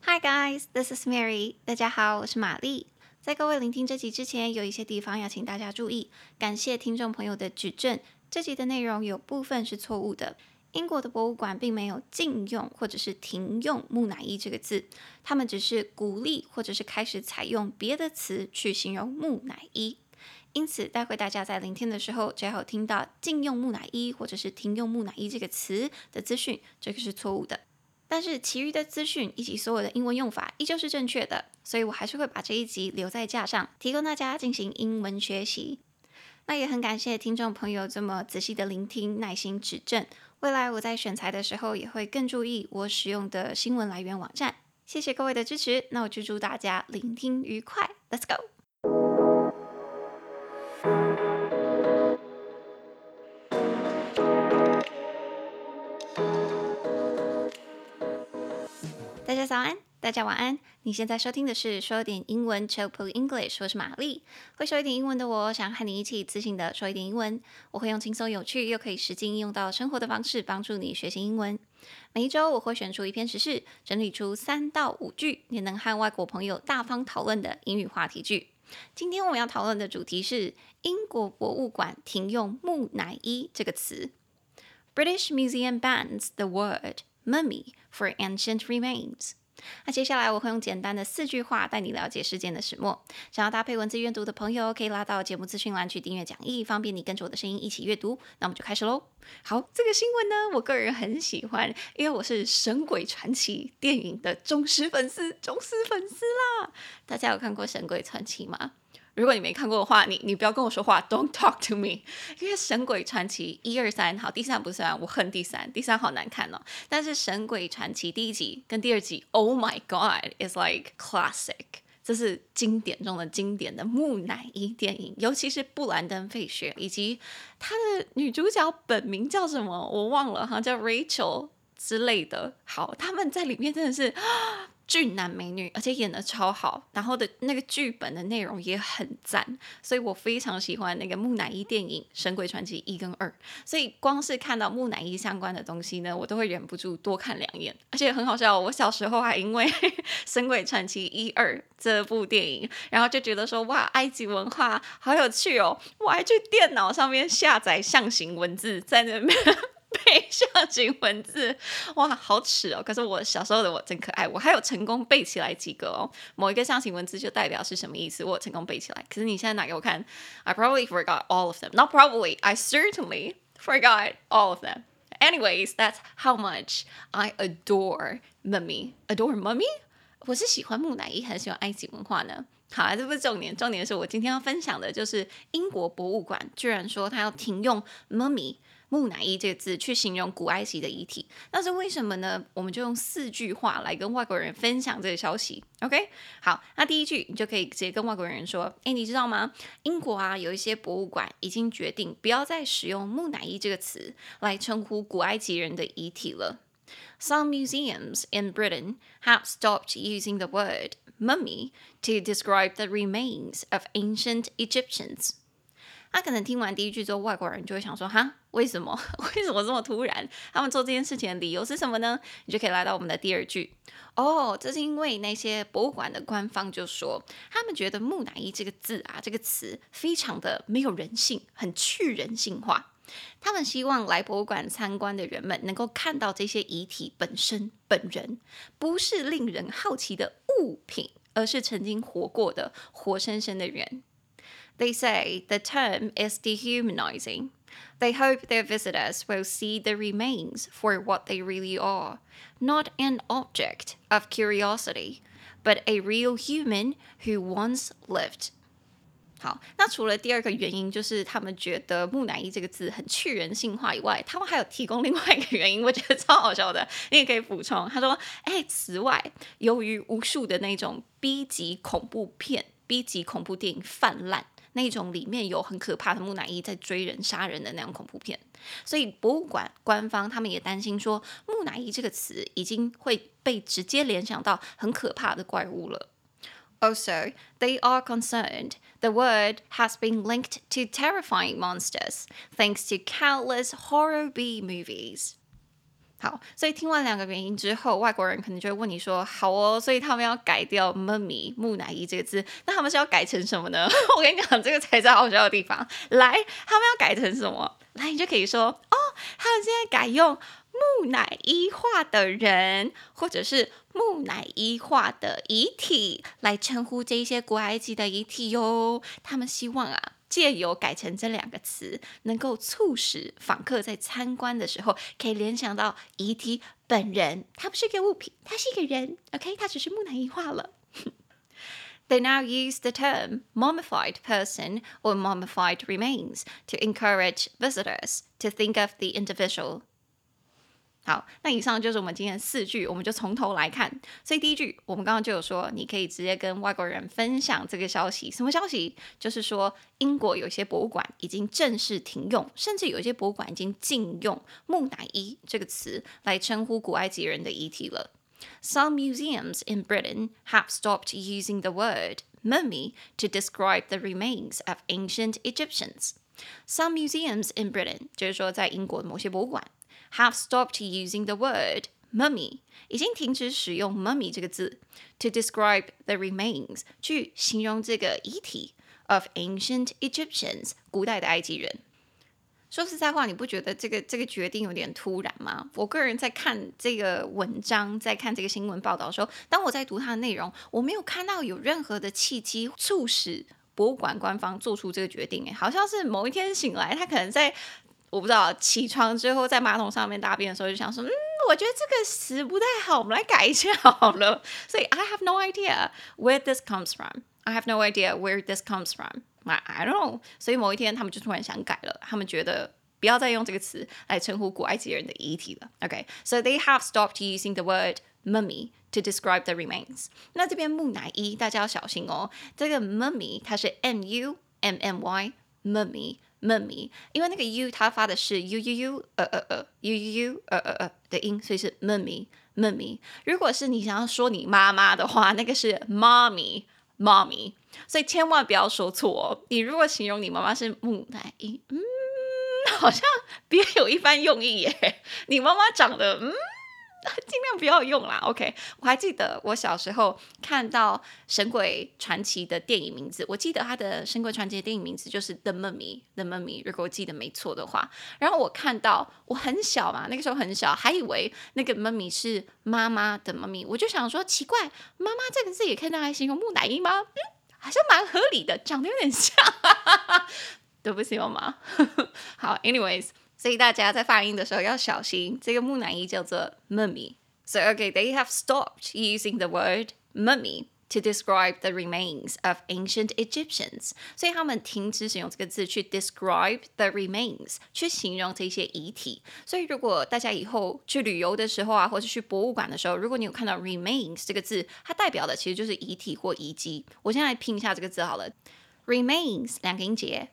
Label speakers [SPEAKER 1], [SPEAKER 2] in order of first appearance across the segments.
[SPEAKER 1] Hi guys, this is Mary. 大家好，我是瑪麗。在各位聆聽這集之前，有一些地方要請大家注意。感謝聽眾朋友的指正，這集的內容有部分是錯誤的。英國的博物館並沒有禁用或者是停用木乃伊這個字，他們只是鼓勵或者是開始採用別的詞去形容木乃伊。因此，待會大家在聆聽的時候，只要有聽到禁用木乃伊或者是停用木乃伊這個詞的資訊，這個是錯誤的。但是其餘的資訊以及所有的英文用法依舊是正確的，所以我還是會把這一集留在架上，提供大家進行英文學習。那也很感謝聽眾朋友這麼仔細的聆聽，耐心指正。未來我在選材的時候也會更注意我使用的新聞來源網站。謝謝各位的支持，那我就祝大家聆聽愉快。Let's go！大家早安，大家晚安。你現在收聽的是說點英文 Chill English， 我是瑪麗。會說一點英文的我，想和你一起自信的說一點英文。我會用輕鬆有趣又可以實際應用到生活的方式，幫助你學習英文。每一周我會選出一篇時事，整理出3到5句你能和外國朋友大方討論的英語話題句。今天我們要討論的主題是英國博物館停用木乃伊這個詞。British Museum bans the word mummy for ancient remains。那接下來我會用簡單的4句話帶你了解事件的始末。想要搭配文字閱讀的朋友，可以拉到節目資訊欄去訂閱講義，方便你跟着我的聲音一起閱讀。那我們就開始嘍。好，這個新聞呢，我個人很喜歡，因為我是《神鬼傳奇》電影的忠實粉絲啦。大家有看過《神鬼傳奇》嗎？如果你沒看過的話，你不要跟我說話 ，Don't talk to me。因為《神鬼傳奇》1、2、3，好，第3不算，我恨第3好難看哦。但是《神鬼傳奇》第1集跟第2集 ，Oh my God，is like classic。這是經典中的經典的木乃伊電影，尤其是布蘭登·費雪以及他的女主角本名叫什麼我忘了，好像叫 Rachel 之類的。好，他們在裡面真的是俊男美女，而且演得超好，然後的那個劇本的內容也很讚，所以我非常喜歡那個木乃伊電影《神鬼傳奇》1跟2。所以光是看到木乃伊相關的東西呢，我都會忍不住多看2眼。而且很好笑，我小時候還因為《神鬼傳奇》1、2這部電影，然後就覺得說哇，埃及文化好有趣哦，我還去電腦上面下載象形文字，在那邊背象形文字，哇，好恥哦！可是我小時候的我真可愛，我還有成功背起來幾個哦。某一個象形文字就代表是什麼意思，我有成功背起來。可是你現在拿給我看 ，I probably forgot all of them. Not probably, I certainly forgot all of them. Anyways, that's how much I adore mummy. Adore mummy? 我是喜歡木乃伊，很喜歡埃及文化呢。好，這不是重點，重點是我今天要分享的就是英國博物館居然說他要停用 mummy。木乃伊這個字去形容古埃及的遺體，那是為什麼呢？我們就用4句話來跟外國人分享這個消息。OK， 好，那第1句你就可以直接跟外國人說：誒，你知道嗎？英國啊，有一些博物館已經決定不要再使用木乃伊這個詞來稱呼古埃及人的遺體了。Some museums in Britain have stopped using the word mummy to describe the remains of ancient Egyptians。他可能聽完第1句之後，外國人就會想說：哈，為什麼這麼突然？他們做這件事情的理由是什麼呢？你就可以來到我們的第2句。哦，這是因為那些博物館的官方就說，他們覺得木乃伊這個字啊，這個詞非常的沒有人性，很去人性化。他們希望來博物館參觀的人們能夠看到這些遺體本人，不是令人好奇的物品，而是曾經活過的活生生的人。They say the term is dehumanizing. They hope their visitors will see the remains for what they really are, not an object of curiosity, but a real human who once lived. 好，那除了第2個原因，就是他們覺得木乃伊這個字很去人性化以外，他們還有提供另外一個原因，我覺得超好笑的，你也可以補充。他說：此外，由於無數的那種 B 級恐怖片、B 級恐怖電影氾濫。那種裡面有很可怕的木乃伊在追人殺人的那種恐怖片，所以博物館官方他們也擔心說，木乃伊這個詞已經會被直接聯想到很可怕的怪物了。Also, they are concerned the word has been linked to terrifying monsters thanks to countless horror B movies. 好，所以聽完兩個原因之後，外國人可能就會問你說：“好哦，所以他們要改掉 mummy 木乃伊這個字，那他們是要改成什麼呢？”我跟你講，這個才是好笑的地方。來，他們要改成什麼？來，你就可以說：“哦，他們現在改用木乃伊化的人，或者是木乃伊化的遺體來稱呼這一些古埃及的遺體喲。他們希望啊。”借由改成這兩個詞，能夠促使訪客在參觀的時候可以聯想到遺體本人，它不是一個物品，它是一個人 ，OK， 它只是木乃伊化了。They now use the term mummified person or mummified remains to encourage visitors to think of the individual. 好，那以上就是我們今天的4句，我們就從頭來看。所以第一句，我們剛剛就有說，你可以直接跟外國人分享這個消息。什麼消息？就是說，英國有些博物館已經正式停用，甚至有些博物館已經禁用木乃伊這個詞來稱呼古埃及人的遺體了。Some museums in Britain have stopped using the word mummy to describe the remains of ancient Egyptians. Some museums in Britain 就是說在英國的某些博物館have stopped using the word mummy 已經停止使用 mummy 這個字 to describe the remains 去形容這個遺體 of ancient Egyptians 古代的埃及人。說實在話，你不覺得這個決定有點突然嗎？我個人在看這個文章，在看這個新聞報道的時候，當我在讀它的內容，我沒有看到有任何的契機促使博物館官方做出這個決定。好像是某一天醒來，他可能在我不知道起床之後在馬桶上面大便的時候就想說，我覺得這個詞不太好，我們來改一下好了。所以 I have no idea where this comes from. I have no idea where this comes from. I don't know. 所以某一天他們就突然想改了，他們覺得不要再用這個詞來稱呼古埃及人的遺體了。Okay, so they have stopped using the word mummy to describe the remains. 那這邊木乃伊大家要小心哦，這個 mummy 它是 M-U-M-M-Y mummy， 因為那個 u 它發的是 u 的音，所以是 mummy。如果是你想要說你媽媽的話，那個是 mommy， 所以千萬不要說錯哦。你如果形容你媽媽是木乃伊，好像別有一番用意耶。你媽媽長得盡量不要用啦 ，OK。我還記得我小時候看到《神鬼傳奇》的電影名字，我記得他的《神鬼傳奇》的電影名字就是 The Mummy， 如果我記得沒錯的話。然後我看到我很小嘛，那個時候很小，還以為那個 Mummy 是媽媽的 Mummy， 我就想說奇怪，媽媽這個字也可以拿來形容木乃伊嗎？好像蠻合理的，長得有點像。對不起，媽媽。好 ，anyways。所以大家在發音的時候要小心，這個木乃伊叫做 mummy. So okay, they have stopped using the word mummy to describe the remains of ancient Egyptians. 所以他們停止使用這個字去 describe the remains， 去形容這些遺體。所以如果大家以後去旅遊的時候啊，或是去博物館的時候，如果你有看到 remains 這個字，它代表的其實就是遺體或遺跡。我先來拼一下這個字好了 ，remains 兩個音節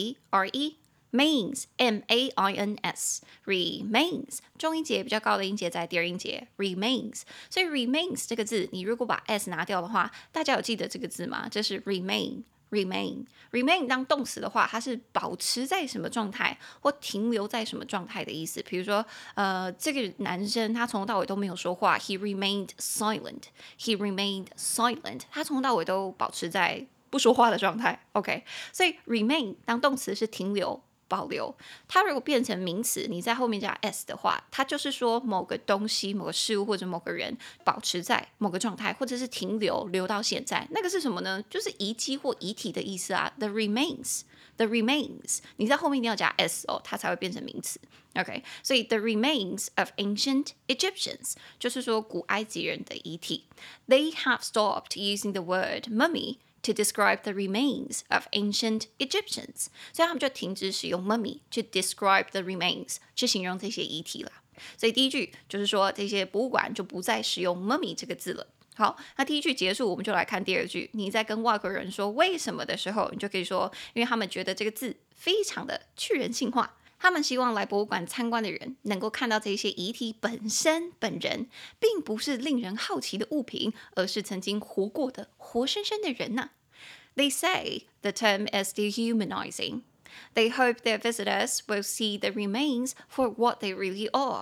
[SPEAKER 1] re。Mains, M-A-I-N-S, remains 重音節比較高的音節在第二音節 remains， 所以 remains 這個字，你如果把 s 拿掉的話，大家有記得這個字嗎？這是 remain 當動詞的話，它是保持在什麼狀態或停留在什麼狀態的意思。比如說，這個男生他從頭到尾都沒有說話 ，he remained silent， 他從頭到尾都保持在不說話的狀態。OK， 所以 remain 當動詞是停留。保留，它如果變成名詞，你在後面加 s 的話，它就是說某個東西、某個事物或者某個人保持在某個狀態，或者是停留到現在，那個是什麼呢？就是遺跡或遺體的意思啊。The remains， 你在後面一定要加 s 哦，它才會變成名詞。OK， 所以 the remains of ancient Egyptians 就是說古埃及人的遺體。They have stopped using the word mummy。To describe the remains of ancient Egyptians， 所以他們就停止使用 mummy to describe the remains 去形容這些遺體了。所以第一句就是說這些博物館就不再使用 mummy 這個字了。好，那第一句結束，我們就來看第二句。你在跟外國人說為什麼的時候，你就可以說，因為他們覺得這個字非常的去人性化。他們希望來博物館參觀的人能夠看到這些遺體本人，並不是令人好奇的物品，而是曾經活過的活生生的人吶。They say the term is dehumanizing. They hope their visitors will see the remains for what they really are.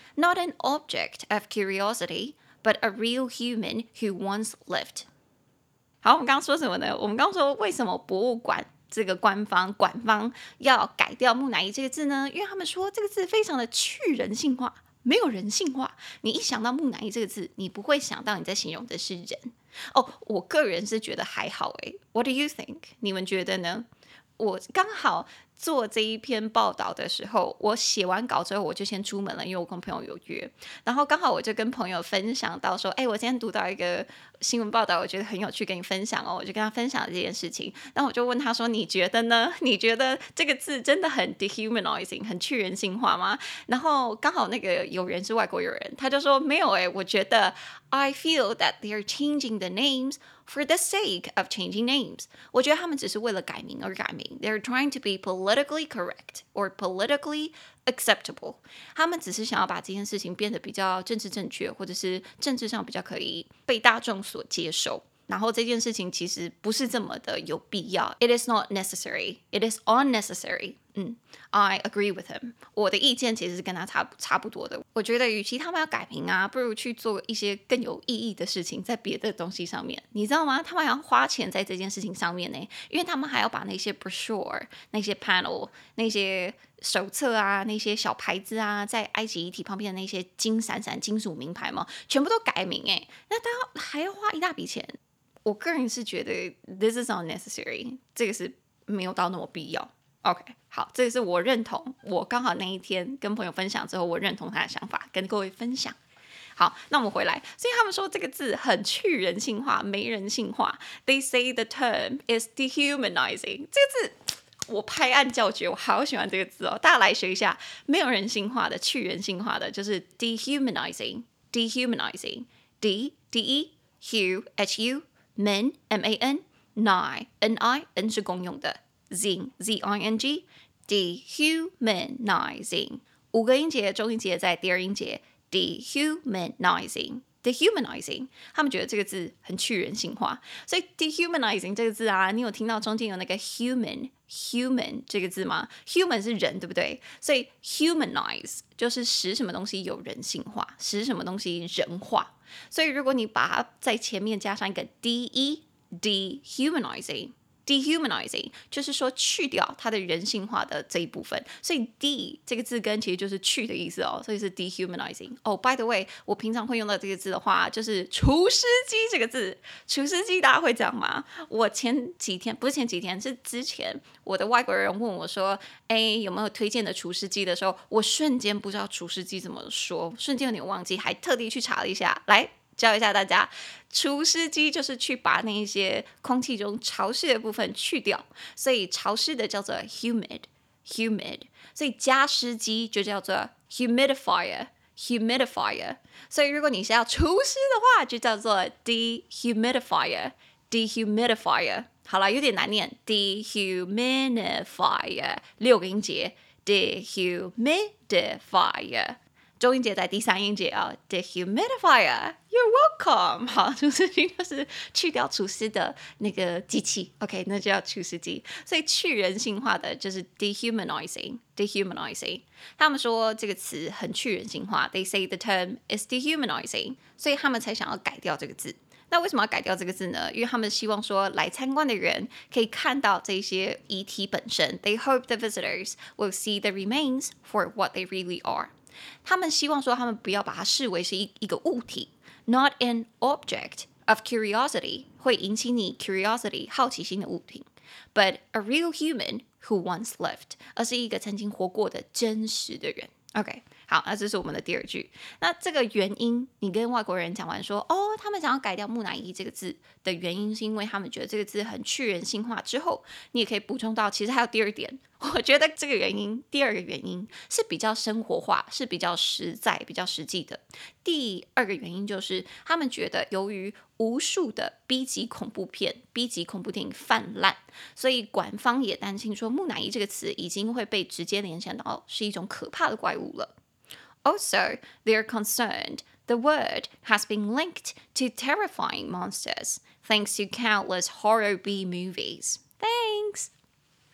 [SPEAKER 1] Not an object of curiosity, but a real human who once lived. 好，我们刚剛說什麼呢？我們剛剛說為什麼博物館這個官方館方要改掉木乃伊這個字呢？因為他們說這個字非常的去人性化，沒有人性化。你一想到木乃伊這個字，你不會想到你在形容的是人。哦，我個人是覺得還好誒。What do you think？ 你們覺得呢？我剛好做這一篇報道的時候，我寫完稿之後我就先出門了，因為我跟朋友有約。然後剛好我就跟朋友分享到說，我今天讀到一個新聞報道，我覺得很有趣，跟你分享哦。我就跟他分享這件事情，然後我就問他說，你覺得呢？你覺得這個字真的很 dehumanizing， 很去人性化嗎？然後剛好那個友人是外國友人，他就說沒有我覺得 I feel that they're changing the names for the sake of changing names. 我覺得他們只是為了改名而改名。They're trying to be politically correct or politically acceptable. 他們只是想要把這件事情變得比較政治正確，或者是政治上比較可以被大眾所接受。然後這件事情其實不是這麼的有必要。It is not necessary. It is unnecessary. I agree with him. 我的意見其實是跟他差不多的。我覺得與其他們要改名啊，不如去做一些更有意義的事情，在別的東西上面。你知道嗎？他們還要花錢在這件事情上面呢，因為他們還要把那些 brochure、那些 panel、那些手冊啊、那些小牌子啊，在埃及遺體旁邊的那些金閃閃金屬名牌嘛，全部都改名哎，那他還要花一大筆錢。我個人是覺得 this is unnecessary， 這個是沒有到那麼必要。OK， 好，這個是我認同。我剛好那一天跟朋友分享之後，我認同他的想法，跟各位分享。好，那我們回來，所以他們說這個字很去人性化，沒人性化。They say the term is dehumanizing。這個字我拍案叫絕，我好喜歡這個字哦！大家來學一下，沒有人性化的、去人性化的，就是 dehumanizing。dehumanizing，d e hu h u man m a n ni n i n 是公用的。zing z-i-n-g dehumanizing 5個音節，中音節在第二音節 dehumanizing 他們覺得這個字很去人性化，所以 dehumanizing 這個字啊，你有聽到中間有那個 human 這個字嗎？ human 是人，對不對？所以 humanize 就是使什麼東西有人性化，使什麼東西人化。所以如果你把它在前面加上一個 de dehumanizing就是說去掉它的人性化的這一部分，所以 de 這個字根其實就是去的意思哦，所以是 dehumanizing。by the way， 我平常會用到這個字的話，就是廚師機這個字。廚師機大家會講嗎？我前幾天不是前幾天，是之前我的外國人問我說，有沒有推薦的廚師機的時候，我瞬間不知道廚師機怎麼說，瞬間有點忘記，還特地去查了一下，來教一下大家，除濕機就是去把那一些空氣中潮濕的部分去掉，所以潮濕的叫做 humid， 所以加濕機就叫做 humidifier。所以如果你是要除濕的話，就叫做 dehumidifier。好了，有點難念 dehumidifier 6個音節 dehumidifier。中音節在第三音節啊 ，dehumidifier，you're welcome。好，除濕機就是去掉除濕的那個機器 ，OK， 那就叫除濕機。所以去人性化的就是 dehumanizing。他們說這個詞很去人性化 ，they say the term is dehumanizing， 所以他們才想要改掉這個字。那為什麼要改掉這個字呢？因為他們希望說來參觀的人可以看到這些遺體本身。They hope the visitors will see the remains for what they really are。他們希望說，他們不要把它視為是一個物體 ，not an object of curiosity， 會引起你 curiosity 好奇心的物品 ，but a real human who once lived， 而是一個曾經活過的真實的人。OK， 好，那這是我們的第二句。那這個原因，你跟外國人講完說，他們想要改掉木乃伊這個字的原因，是因為他們覺得這個字很去人性化。之後，你也可以補充到，其實還有第二點。我覺得這個原因，第二個原因是比較生活化，是比較實在、比較實際的。第二個原因就是，他們覺得由於無數的 B 級恐怖片、B 級恐怖電影氾濫，所以館方也擔心說，木乃伊這個詞已經會被直接聯想到是一種可怕的怪物了。Also, they're concerned the word has been linked to terrifying monsters, thanks to countless horror B movies. Thanks. 好，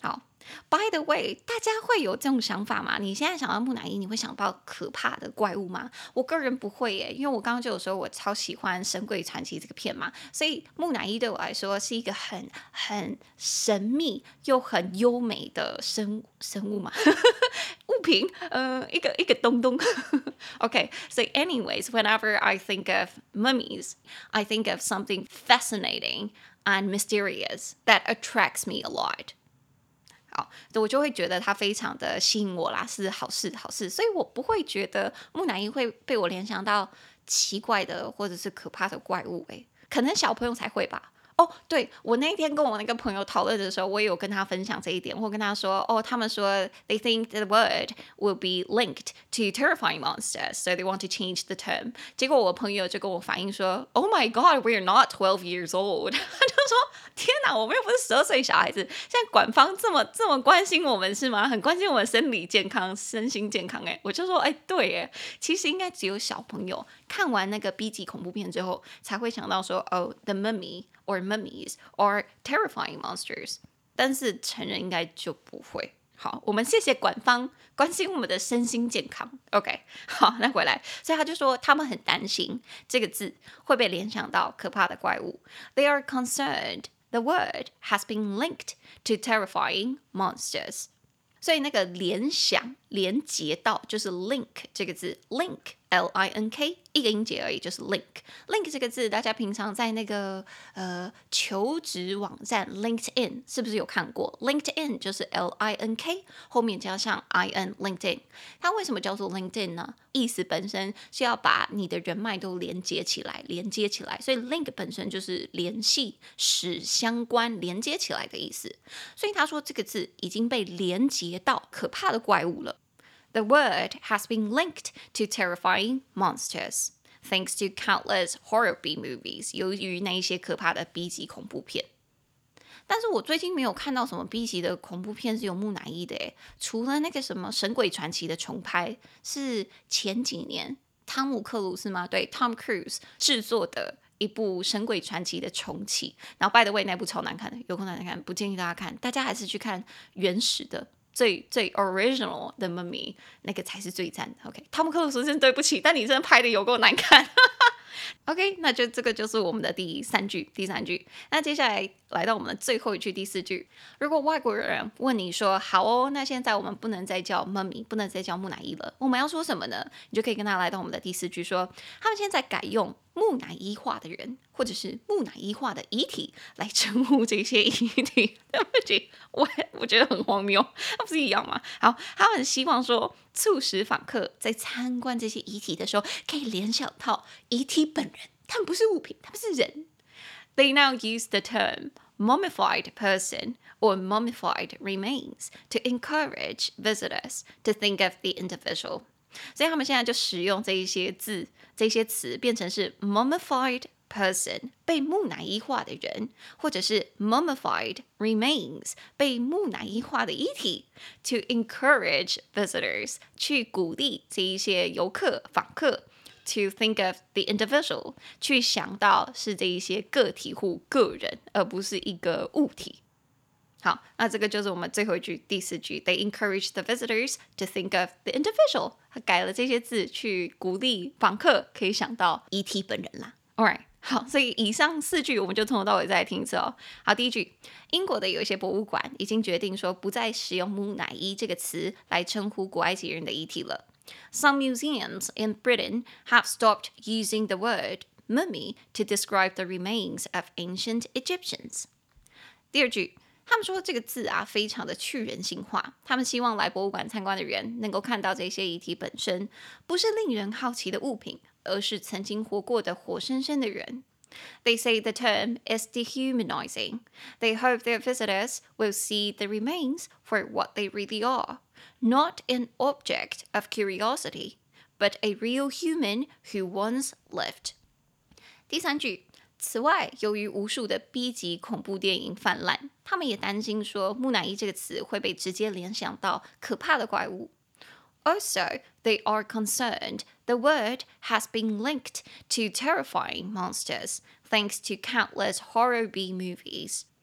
[SPEAKER 1] By the way，大家會有這種想法嗎？你現在想到木乃伊，你會想到可怕的怪物嗎？我個人不會耶，因為我剛剛就有說我超喜歡《神鬼傳奇》這個片嘛，所以木乃伊對我來說是一個很神秘又很優美的生物嘛，物品，一個東東。Okay, so anyways, whenever I think of mummies, I think of something fascinating and mysterious that attracts me a lot.好，我就會覺得它非常的吸引我啦，是好事，所以我不會覺得木乃伊會被我聯想到奇怪的或者是可怕的怪物，可能小朋友才會吧。哦，對，我那天跟我那個朋友討論的時候，我也有跟他分享這一點，我跟他說，他們說 they think the word will be linked to terrifying monsters, so they want to change the term. 結果我朋友就跟我反映說 ，Oh my God, we're not 12 years old. 他就說，天哪，我們又不是12歲小孩子，現在官方這麼關心我們是嗎？很關心我們生理健康、身心健康，我就說，對，其實應該只有小朋友看完那個 B 級恐怖片之後，才會想到說，the mummy.or mummies, or terrifying monsters. 但是成人應該就不會。好，我們謝謝官方關心我們的身心健康。OK， 好，那回來，所以他就說他們很擔心這個字會被聯想到可怕的怪物。They are concerned the word has been linked to terrifying monsters. 所以那個聯想、連接到就是 link 這個字 ，link。L-I-N-K 一個音節而已，就是 link。link 這個字，大家平常在那個求職網站 LinkedIn 是不是有看過 ？LinkedIn 就是 L-I-N-K 後面加上 I-N LinkedIn。它為什麼叫做 LinkedIn 呢？意思本身是要把你的人脈都連接起來，所以 link 本身就是聯繫、使相關、連接起來的意思。所以他說這個字已經被連接到可怕的怪物了。The word has been linked to terrifying monsters, thanks to countless horror B movies. 由於那一些可怕的 B 級恐怖片，但是我最近沒有看到什麼 B 級的恐怖片是有木乃伊的，除了那個什麼《神鬼傳奇》的重拍，是前幾年湯姆克魯斯嗎？對 ，Tom Cruise 製作的一部《神鬼傳奇》的重啟。然後 by the way 那部超難看的，有空難看，不建議大家看，大家還是去看原始的。最 original 的 Mummy 那個才是最讚的。OK， 湯姆克魯斯真對不起，但你真的拍的有夠難看。OK， 那就這個就是我們的第三句。那接下來到我們的最後一句，第四句。如果外國人問你說，好哦，那現在我們不能再叫 Mummy， 不能再叫木乃伊了，我們要說什麼呢？你就可以跟他來到我們的第四句說，他們現在改用木乃伊化的人，或者是木乃伊化的遺體來稱呼這些遺體。對不起，我覺得很荒謬，那不是一樣嗎？好，他們希望說，促使訪客在參觀這些遺體的時候，可以聯想到遺體本人，他們不是物品，他們是人。They now use the term mummified person or mummified remains to encourage visitors to think of the individual. 所以他們現在就使用這一些字、這些詞，變成是 mummified person 被木乃伊化的人，或者是 mummified remains 被木乃伊化的遺體 to encourage visitors 去鼓勵這一些遊客、訪客。To think of the individual 去想到是這一些個體戶個人，而不是一個物體。好，那這個就是我們最後一句第四句。They encourage the visitors to think of the individual。他改了這些字去鼓勵訪客可以想到遺體本人啦。Alright， 好，所以以上四句我們就從頭到尾再來聽一次哦。好，第一句，英國的有一些博物館已經決定說不再使用木乃伊這個詞來稱呼古埃及人的遺體了。Some museums in Britain have stopped using the word mummy to describe the remains of ancient Egyptians. 第二句，他們說這個字啊非常的去人性化，他們希望來博物館參觀的人能夠看到這些遺體本身不是令人好奇的物品，而是曾經活過的活生生的人。They say the term is dehumanizing. They hope their visitors will see the remains for what they really are.Not an object of curiosity, but a real human who once lived. 第三句，此外，由於無數的 B 級恐怖電影氾濫，他們也擔心說木乃伊這個詞會被直接聯想到可怕的怪物。Also, they are concerned the word has been linked to terrifying monsters, thanks to countless horror B movies.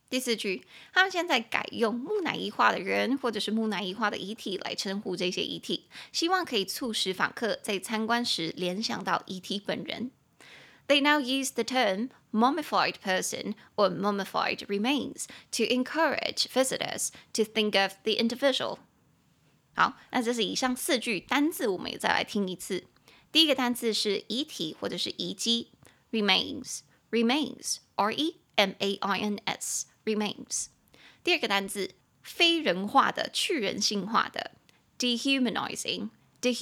[SPEAKER 1] 第4句，他們現在改用木乃伊化的人或者是木乃伊化的遺體來稱呼這些遺體，希望可以促使訪客在參觀時聯想到遺體本人。They now use the term mummified person or mummified remains to encourage visitors to think of the individual. 好，那這是以上4句單字，我們也再來聽一次。第一個單字是遺體或者是遺跡 ，remains R-E-M-A-I-N-S remains。第二個單字非人化的、去人性化的 dehumanizing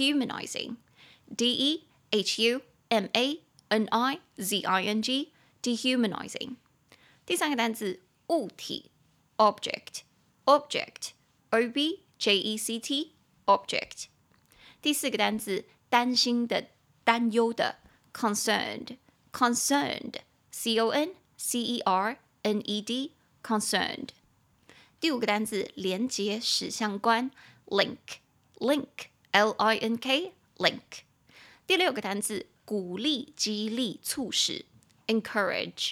[SPEAKER 1] D-E-H-U-M-A-N-I-Z-I-N-G dehumanizing。第三個單字物體 object O-B-J-E-C-T object。第四個單字擔心的、擔憂的 concerned C-O-N-C-E-R-N-E-D concerned。第五個單字連結、使相關 link L-I-N-K link。第六個單字鼓勵、激勵、促使 encourage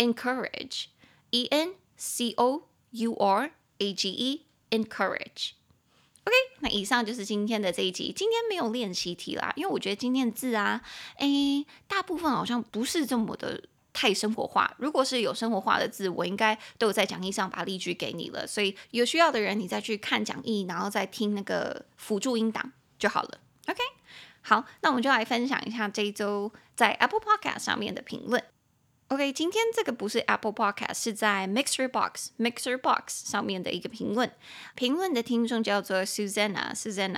[SPEAKER 1] E-N-C-O-U-R-A-G-E encourage。OK， 那以上就是今天的這一集。今天沒有練習題啦，因為我覺得今天的字啊，大部分好像不是這麼的太生活化。如果是有生活化的字，我應該都有在講義上把例句給你了。所以有需要的人，你再去看講義，然後再聽那個輔助音檔就好了。OK， 好，那我們就來分享一下這一周在 Apple Podcast 上面的評論。OK， 今天這個不是 Apple Podcast， 是在 Mixer Box 上面的一個評論。評論的聽眾叫做 Susanna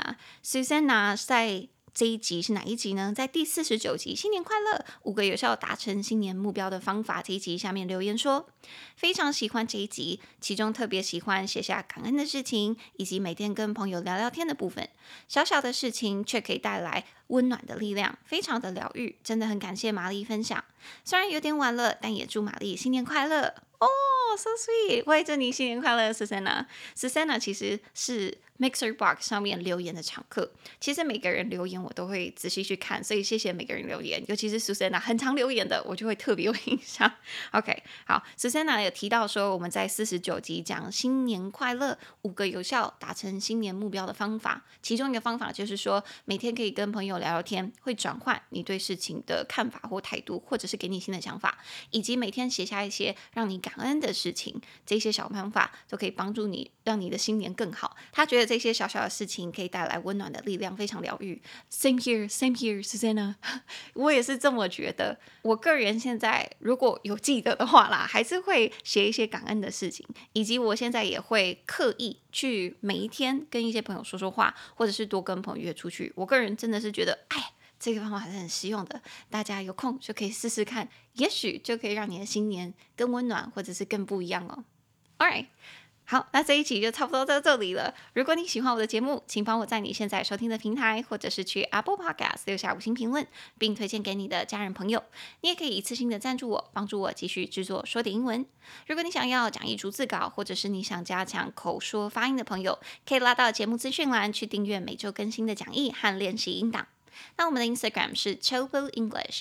[SPEAKER 1] 在這一集是哪一集呢？在第49集，新年快樂，5個有效達成新年目標的方法。這一集下面留言說，非常喜歡這一集，其中特別喜歡寫下感恩的事情，以及每天跟朋友聊聊天的部分。小小的事情卻可以帶來溫暖的力量，非常的療癒，真的很感謝瑪麗分享。雖然有點晚了，但也祝瑪麗新年快樂哦。So sweet， 我也祝你新年快樂 Susanna 其實是 Mixer Box 上面留言的常客，其實每個人留言我都會仔細去看，所以謝謝每個人留言，尤其是 Susanna 很常留言的，我就會特別有印象。OK， 好 ，Susanna 有提到說我們在49集講新年快樂5個有效達成新年目標的方法，其中一個方法就是說每天可以跟朋友聊聊天，會轉換你對事情的看法或態度，或者是給你新的想法，以及每天寫下一些讓你感恩的事情，這些小方法都可以幫助你，讓你的新年更好。他覺得這些小小的事情可以帶來溫暖的力量，非常療癒。Same here, Susanna 我也是這麼覺得。我個人現在如果有記得的話啦，還是會寫一些感恩的事情，以及我現在也會刻意去每一天跟一些朋友說說話，或者是多跟朋友約出去。我個人真的是覺得，這個方法還是很實用的，大家有空就可以試試看，也許就可以讓你的新年更溫暖，或者是更不一樣哦。Alright， 好，那這一集就差不多到這裡了。如果你喜歡我的節目，請幫我在你現在收聽的平台，或者是去 Apple Podcast 留下5星評論，並推薦給你的家人朋友。你也可以一次性的贊助我，幫助我繼續製作說點英文。如果你想要講義逐字稿，或者是你想加強口說發音的朋友，可以拉到節目資訊欄去訂閱每周更新的講義和練習音檔。那我們的 Instagram 是 Chillpill English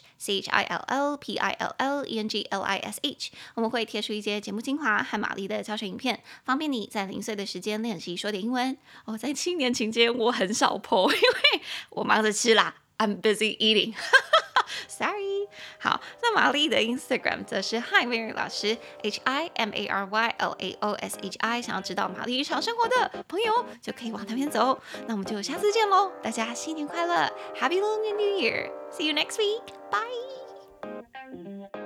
[SPEAKER 1] ChillPillEnglish，我們會貼出一些節目精華和瑪麗的教學影片，方便你在零碎的時間練習說點英文。在新年期間我很少 po， 因為我忙着吃啦 ，I'm busy eating 。Sorry， 好，那瑪麗的 Instagram 則是 Hi Mary 老師 HIMARYLAOSHI， 想要知道瑪麗日常生活的朋友就可以往那邊走。那我們就下次見嘍，大家新年快樂 ，Happy Lunar New Year，See you next week，Bye。